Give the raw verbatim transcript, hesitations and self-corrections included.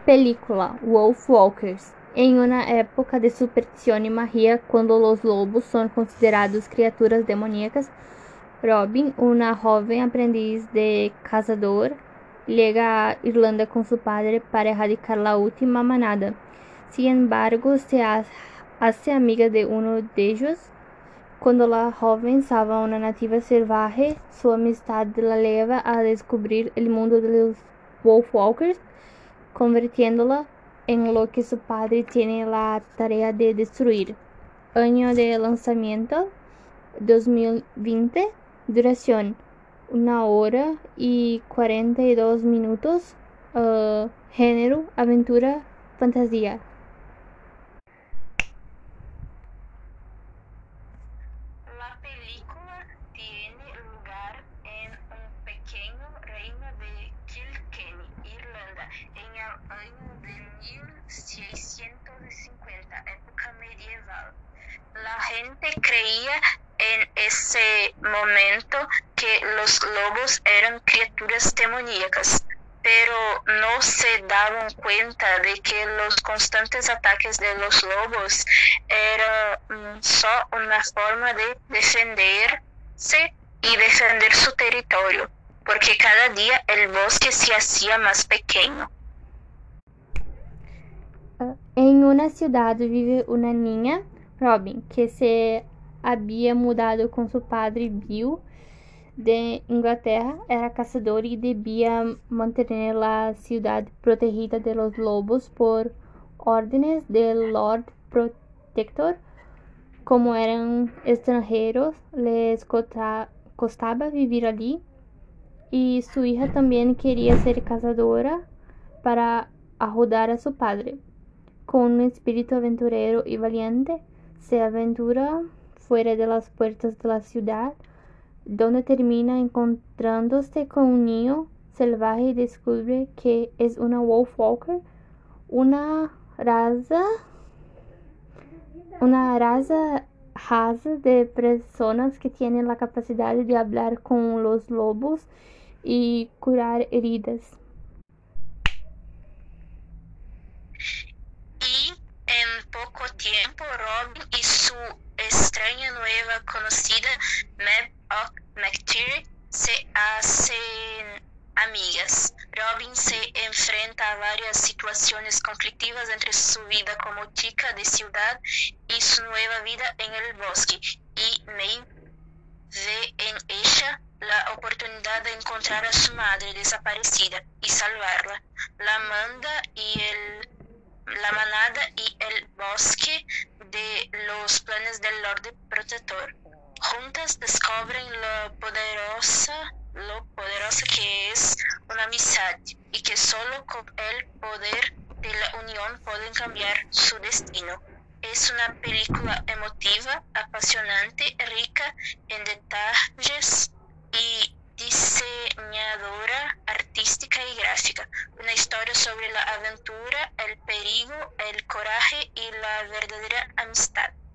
Película Wolfwalkers. En una época de superstición y magia, cuando los lobos son considerados criaturas demoníacas, Robin, una joven aprendiz de cazador, llega a Irlanda con su padre para erradicar la última manada. Sin embargo, se hace amiga de uno de ellos. Cuando la joven salva a una nativa salvaje, su amistad la lleva a descubrir el mundo de los Wolfwalkers, convirtiéndola en lo que su padre tiene la tarea de destruir. Año de lanzamiento dos mil veinte. Duración una hora y cuarenta y dos minutos. Uh, género, aventura, fantasía. La película tiene lugar en un pequeño reino de Kilkenny, Irlanda, en el año de mil seiscientos cincuenta, época medieval. La gente creía en ese momento que los lobos eran criaturas demoníacas, pero no se daban cuenta de que los constantes ataques de los lobos eran solo una forma de defenderse y defender su territorio, porque cada día el bosque se hacía más pequeño. En una ciudad vive una niña, Robin, que se había mudado con su padre Bill de Inglaterra. Era cazador y debía mantener la ciudad protegida de los lobos por órdenes del Lord Protector. Como eran extranjeros, les costaba vivir allí, y su hija también quería ser cazadora para ayudar a su padre. Con un espíritu aventurero y valiente, se aventura fuera de las puertas de la ciudad, donde termina encontrándose con un niño salvaje y descubre que es una Wolfwalker, una raza, una raza raza de personas que tienen la capacidad de hablar con los lobos y curar heridas. Y en poco tiempo, Robin y su extraña nueva conocida, Mab McTeer, se hacen amigas. Robin se enfrenta a varias situaciones conflictivas entre su vida como chica de ciudad y su nueva vida en el bosque, y May ve en ella la oportunidad de encontrar a su madre desaparecida y salvarla. La manda y el la manada y el bosque de los planes del Lord Protector. Juntas descubren lo poderosa, lo poderosa que es una amistad, y que solo con el poder de la unión pueden cambiar su destino. Es una película emotiva, apasionante, rica en detalles y diseñadora artística y gráfica. Una historia sobre la aventura, el peligro, el coraje y la verdadera amistad.